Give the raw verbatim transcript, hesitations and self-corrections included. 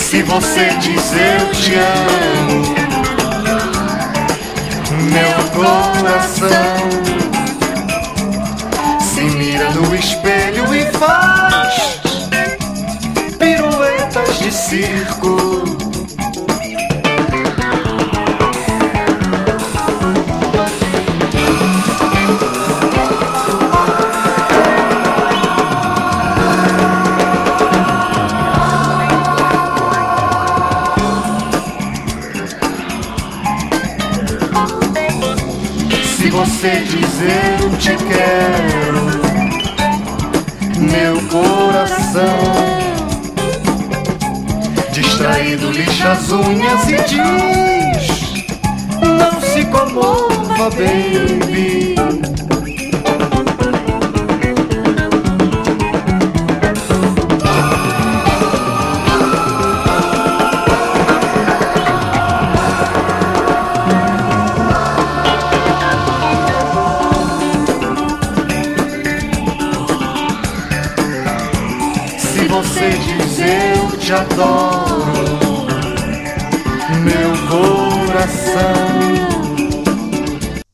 Se você diz eu te amo, meu coração se mira no espelho e faz piruetas de circo. Se você diz eu te quero, meu coração distraído lixa as unhas e diz: não se comova, baby. Se você diz eu te adoro, meu coração